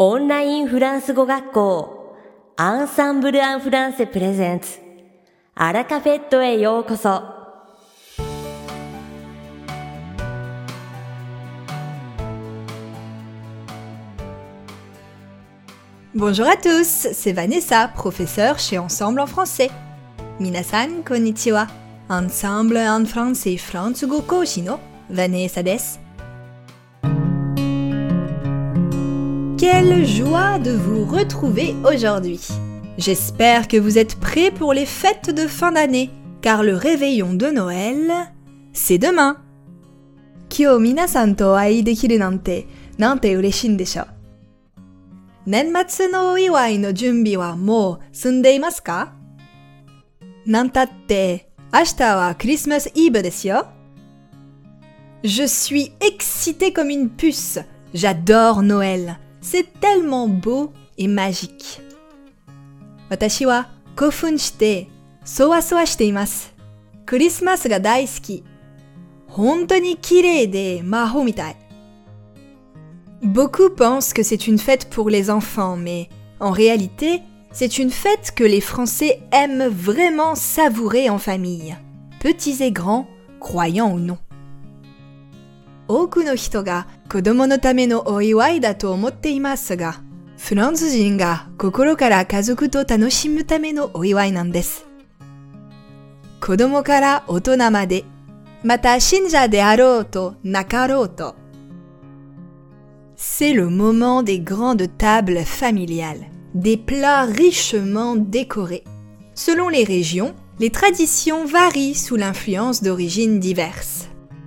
オンラインフランス語学校アンサンブル・アン・フランセプレゼンツアラカフェットへようこそ。 Bonjour à tous, c'est Vanessa, professeure chez Ensemble en français. Minasan konnichiwa. Ensemble en français フランス語講師の Vanessa です。Quelle joie de vous retrouver aujourd'hui. J'espère que vous êtes prêts pour les fêtes de fin d'année, car le réveillon de Noël, c'est demain. 今日皆さんとお会いできるなんて嬉しいんでしょう。年末のお祝いの準備はもう済んでいますか？なんたって明日はクリスマスイブですよ。Je suis excitée comme une puce. J'adore Noël. C'est tellement beau et magique. 私は興奮してそわそわしています。クリスマスが大好き。本当に綺麗で魔法みたい。Beaucoup pensent que c'est une fête pour les enfants, mais en réalité, c'est une fête que les Français aiment vraiment savourer en famille, petits et grands, croyants ou non. 多くの人が子供のためのお祝いだと思っていますが、フランス人が心から家族と楽しむためのお祝いなんです。子供から大人まで、また信者であろうとなかろうと。C'est le moment des grandes tables familiales, des plats richement décorés. Selon les régions, les traditions varient sous l'influence d'origines diverses.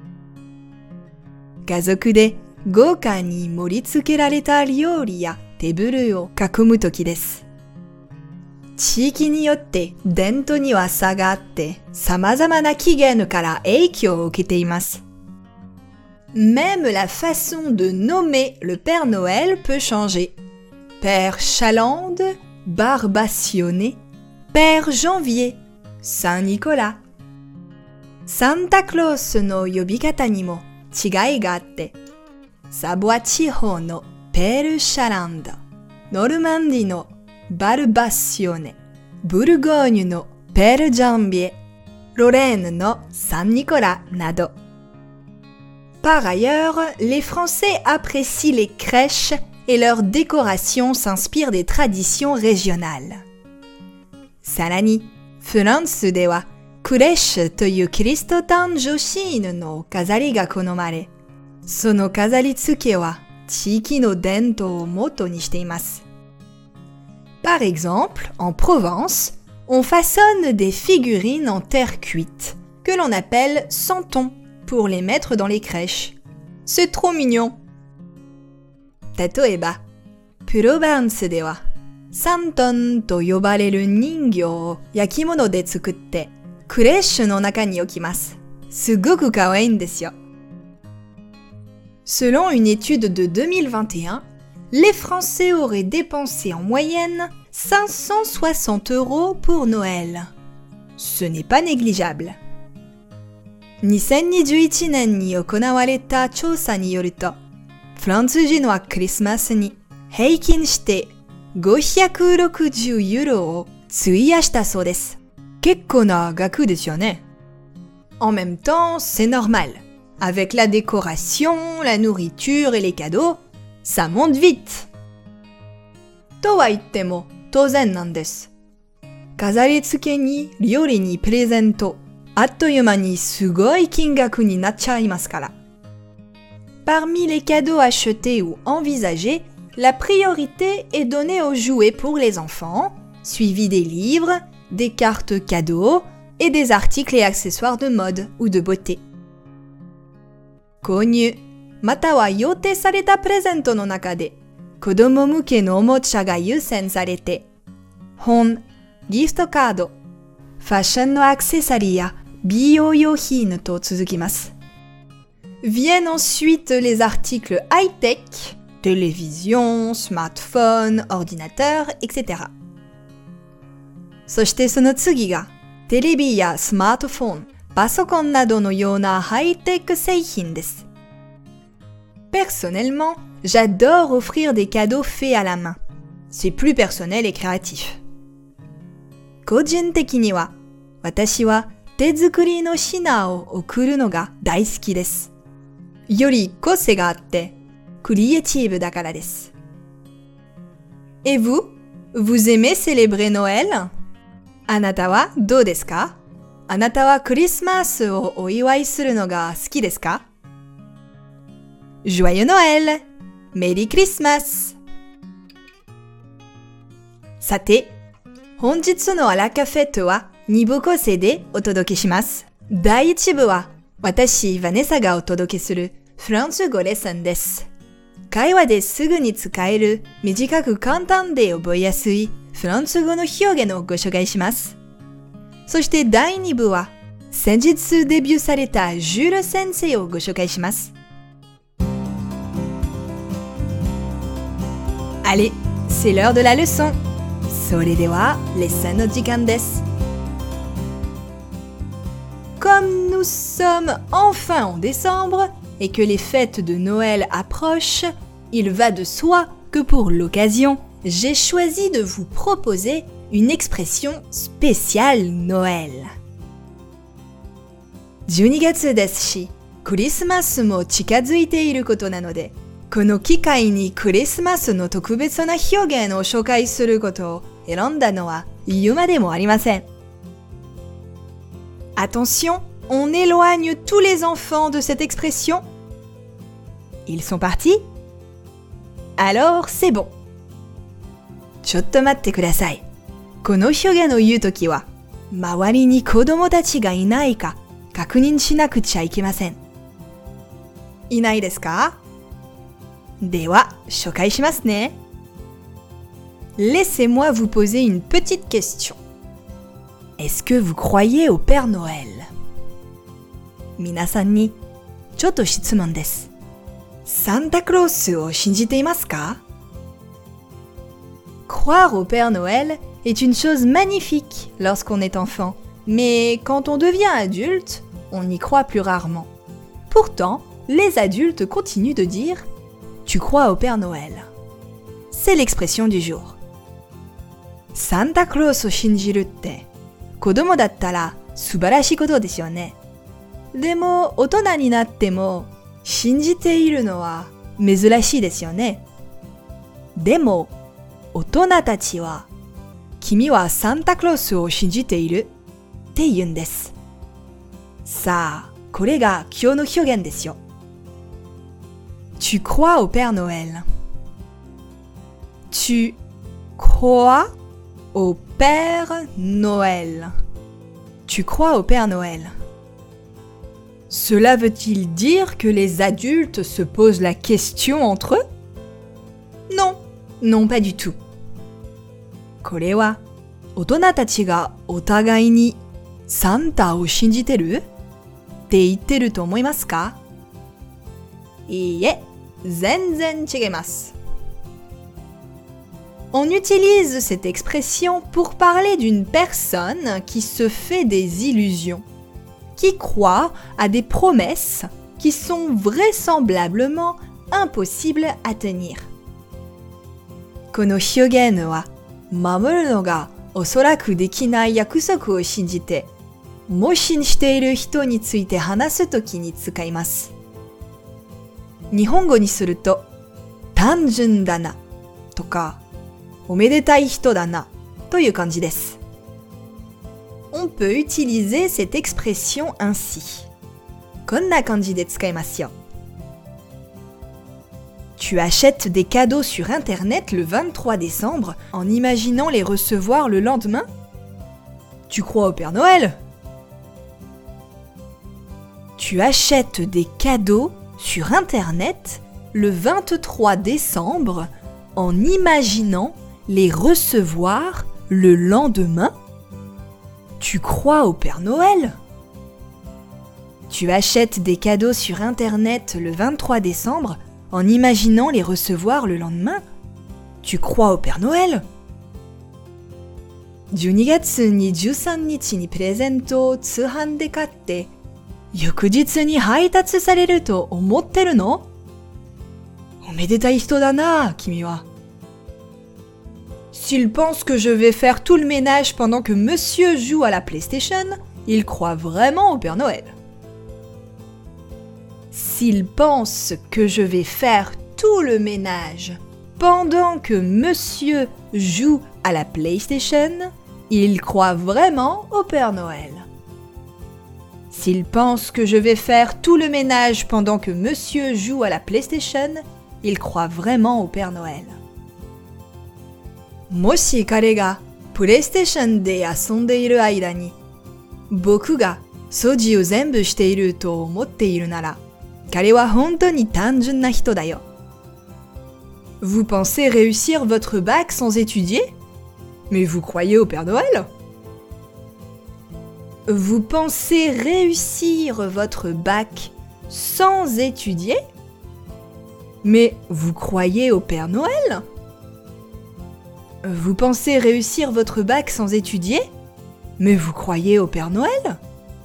家族で豪華に盛り付けられた料理やテーブルを囲む時です。地域によって伝統には差があって、様々な起源から影響を受けています。Même la façon de nommer le Père Noël peut changer. Père Chalande, Barbationné, Père Janvier, Saint Nicolas. Santa Claus の呼び方にも違いがあって、サボア地方のペルシャランド、ノルマンディのバルバシオネ、ブルゴーニュのペルジャンビエ、ロレーヌのサンニコラなど。Par ailleurs, les Français apprécient les crèches et leur décoration s'inspire des traditions régionales. さらに、フランスではクレッシュというキリスト誕生シーンの飾りが好まれ、その飾り付けは地域の伝統を元にしています。Par exemple, en Provence, on façonne des figurines en terre cuite, que l'on appelle santons, pour les mettre dans les crèches. C'est trop mignon! 例えば、プロヴァンスでは、サントンと呼ばれる人形を焼き物で作って、クレッシュの中に置きます。すごく可愛いんですよ。Selon une étude de 2021, les Français auraient dépensé en moyenne 560 € pour Noël. Ce n'est pas négligeable. 2021年に行われた調査によると、フランス人はクリスマスに平均して560ユーロを費やしたそうです。結構な額ですよね。En même temps, c'est normal. Avec la décoration, la nourriture et les cadeaux, ça monte vite. とは言っても当然なんです。飾り付けに料理にプレゼント、あっという間にすごい金額になっちゃいますから。Parmi les cadeaux achetés ou envisagés, la priorité est donnée aux jouets pour les enfants, suivi des livres, des cartes cadeaux et des articles et accessoires de mode ou de beauté. 購入、または予定されたプレゼントの中で、子供向けのおもちゃが優先されて、本、ギフトカード、ファッションのアクセサリーや美容用品と続きます。Viennent ensuite les articles high-tech, télévision, smartphone, ordinateur, etc. そしてその次が、テレビやスマートフォン、パソコンなどのようなハイテク製品です。Personnellement, j'adore offrir des cadeaux faits à la main. C'est plus personnel et créatif. 個人的には、私は手作りの品を贈るのが大好きです。より個性があって、クリエイティブだからです。Et vous? Vous aimez célébrer Noël? あなたはどうですか？あなたはクリスマスをお祝いするのが好きですか？ Joyeux Noël! Merry Christmas! さて、本日のアラカフェットは2部構成でお届けします。第1部は私、ヴァネサがお届けするフランス語レッスンです。会話ですぐに使える短く簡単で覚えやすいフランス語の表現をご紹介します。そして第2部は先日デビューされたジュール先生をご紹介します。Allez, c'est l'heure de la leçon! それではレッスンの時間です。Comme nous sommes enfin en décembre et que les fêtes de Noël approchent, il va de soi que pour l'occasion, j'ai choisi de vous proposer une expression spéciale Noël. 12月ですし、クリスマスも近づいていることなので、この機会にクリスマスの特別な表現を紹介することを選んだのは言うまでもありません。Attention, on éloigne tous les enfants de cette expression. Ils sont partis? Alors, c'est bon. ちょっと待ってください。この表現を言うときは、周りに子供たちがいないか確認しなくちゃいけません。いないですか？では、紹介しますね。Laissez-moi vous poser une petite question. Est-ce que vous croyez au Père Noël? 皆さんにちょっと質問です。サンタクロースを信じていますか？ Croire au Père Noël est une chose magnifique lorsqu'on est enfant, mais quand on devient adulte, on y croit plus rarement. Pourtant, les adultes continuent de dire « Tu crois au Père Noël ». C'est l'expression du jour. サンタクロースを信じるって子供だったら素晴らしいことですよね。でも大人になっても信じているのは珍しいですよね。でも大人たちは君はサンタクロースを信じているって言うんです。さあ、これが今日の表現ですよ。Tu crois au Père Noël. Tu crois au Père Noël. Tu crois au Père Noël. Cela veut-il dire que les adultes se posent la question entre eux? Non, non pas du tout. これは大人たちがお互いにサンタを信じてるって言ってると思いますか？いいえ、全然違います。On utilise cette expression pour parler d'une personne qui se fait des illusions, qui croit à des promesses qui sont vraisemblablement impossibles à tenir. この表現は守るのがおそらくできない約束を信じて、模試している人について話すときに使います。日本語にすると、単純だなとか、おめでたい人だなという感じです。On peut utiliser cette expression ainsi. こんな感じで使いますよ。Tu achètes des cadeaux sur Internet le 23 décembre en imaginant les recevoir le lendemain? Tu crois au Père Noël? Tu achètes des cadeaux sur Internet le 23 décembre en imaginant les recevoir le lendemain? Tu crois au Père Noël? Tu achètes des cadeaux sur Internet le 23 décembre en imaginant les recevoir le lendemain? Tu crois au Père Noël? 12月23日にプレゼントを通販で買って翌日に配達されると思ってるの？本めでたい人だな、君は。S'il pense que je vais faire tout le ménage pendant que monsieur joue à la PlayStation, il croit vraiment au Père Noël. S'il pense que je vais faire tout le ménage pendant que monsieur joue à la PlayStation, il croit vraiment au Père Noël. S'il pense que je vais faire tout le ménage pendant que monsieur joue à la PlayStation, il croit vraiment au Père Noël. もし彼がプレイステーションで遊んでいる間に、僕が掃除を全部していると思っているなら、彼は本当に単純な人だよ。Vous pensez réussir votre bac sans étudier? Mais vous croyez au Père Noël? Vous pensez réussir votre bac sans étudier? Mais vous croyez au Père Noël? Vous pensez réussir votre bac sans étudier? Mais vous croyez au Père Noël?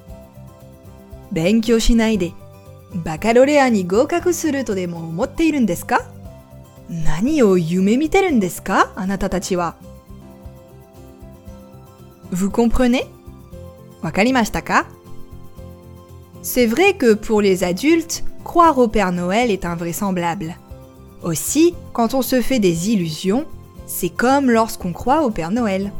勉強しないでバカロレアに合格するとでも思っているんですか？何を夢見てるんですか？あなたたちは。Vous comprenez? わかりましたか？ C'est vrai que pour les adultes, croire au Père Noël est invraisemblable. Aussi, quand on se fait des illusions, c'est comme lorsqu'on croit au Père Noël.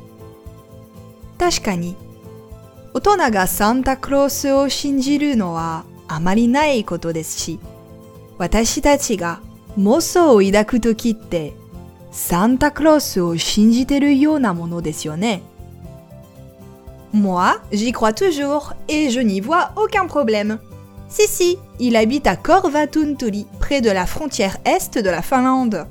確かに、大人がサンタクロースを信じるのはあまりないことですし、私たちが妄想を抱くときってサンタクロースを信じてるようなものですよね。Moi, j'y crois toujours et je n'y vois aucun problème. Si, il habite à Korvatuntuli, près de la frontière est de la Finlande.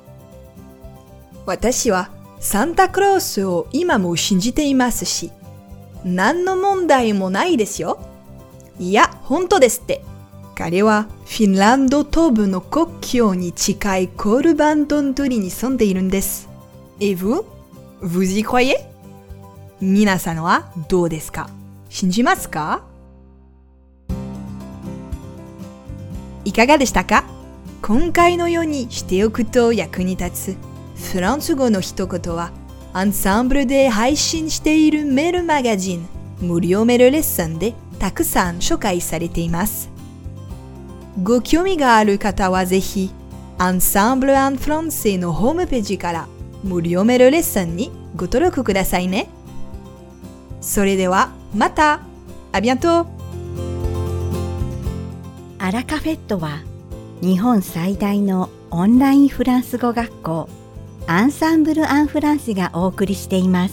私はサンタクロースを今も信じていますし、何の問題もないですよ。いや、本当ですって。彼はフィンランド東部の国境に近いコールバントントリに住んでいるんです。Et vous? Vous y croyez? 皆さんはどうですか？信じますか？いかがでしたか？今回のようにしておくと役に立つフランス語の一言はアンサンブルで配信しているメールマガジン無料メールレッスンでたくさん紹介されています。ご興味がある方はぜひアンサンブル・アン・フランセのホームページから無料メールレッスンにご登録くださいね。それではまた。ありがとう。 アラカフェットは日本最大のオンラインフランス語学校アンサンブル・アン・フランセがお送りしています。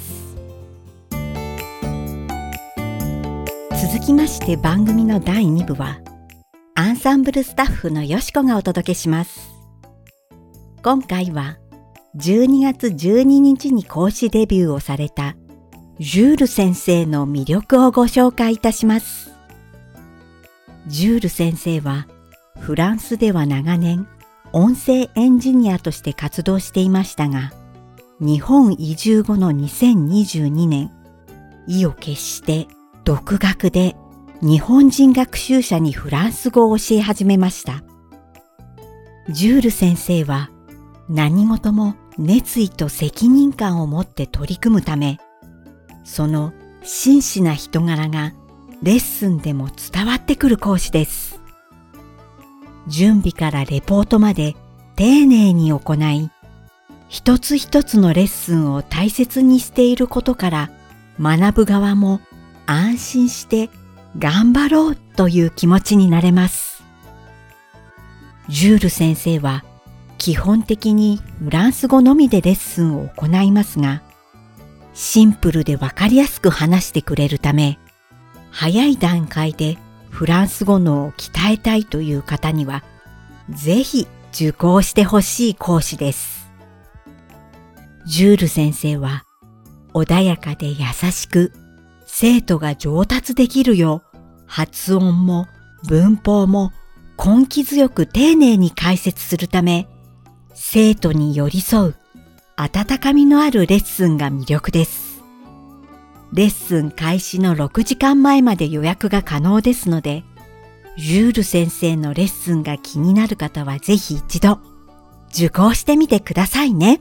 続きまして番組の第2部はアンサンブルスタッフのよしこがお届けします。今回は12月12日に講師デビューをされたジュール先生の魅力をご紹介いたします。ジュール先生はフランスでは長年音声エンジニアとして活動していましたが、日本移住後の2022年、意を決して独学で日本人学習者にフランス語を教え始めました。ジュール先生は何事も熱意と責任感を持って取り組むため、その真摯な人柄がレッスンでも伝わってくる講師です。準備からレポートまで丁寧に行い、一つ一つのレッスンを大切にしていることから学ぶ側も安心して頑張ろうという気持ちになれます。ジュール先生は基本的にフランス語のみでレッスンを行いますが、シンプルでわかりやすく話してくれるため、早い段階でフランス語能を鍛えたいという方には、ぜひ受講してほしい講師です。ジュール先生は穏やかで優しく、生徒が上達できるよう発音も文法も根気強く丁寧に解説するため、生徒に寄り添う温かみのあるレッスンが魅力です。レッスン開始の6時間前まで予約が可能ですので、 ジュール先生のレッスンが気になる方はぜひ一度受講してみてくださいね。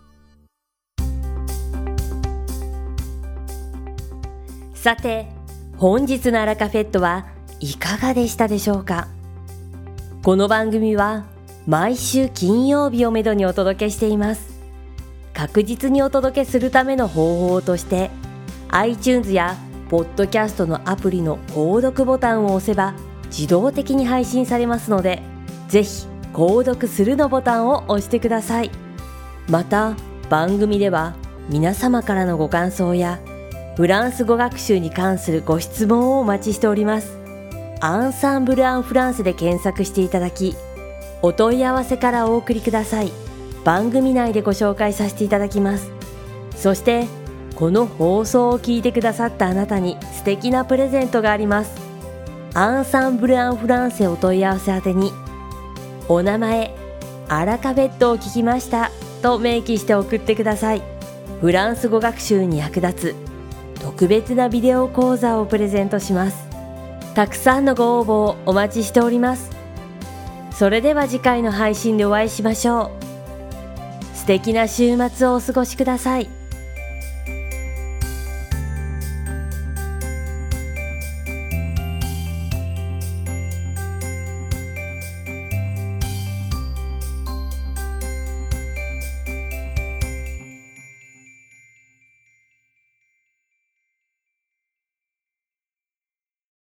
さて、本日のアラカフェットはいかがでしたでしょうか。この番組は毎週金曜日をめどにお届けしています。確実にお届けするための方法として iTunes やポッドキャストのアプリの購読ボタンを押せば自動的に配信されますので、ぜひ購読するのボタンを押してください。また番組では皆様からのご感想やフランス語学習に関するご質問をお待ちしております。アンサンブル・アン・フランセで検索していただき、お問い合わせからお送りください。番組内でご紹介させていただきます。そしてこの放送を聞いてくださったあなたに素敵なプレゼントがあります。アンサンブル・アン・フランセお問い合わせ宛てに、お名前、アラカフェットを聞きましたと明記して送ってください。フランス語学習に役立つ特別なビデオ講座をプレゼントします。たくさんのご応募をお待ちしております。それでは次回の配信でお会いしましょう。素敵な週末をお過ごしください。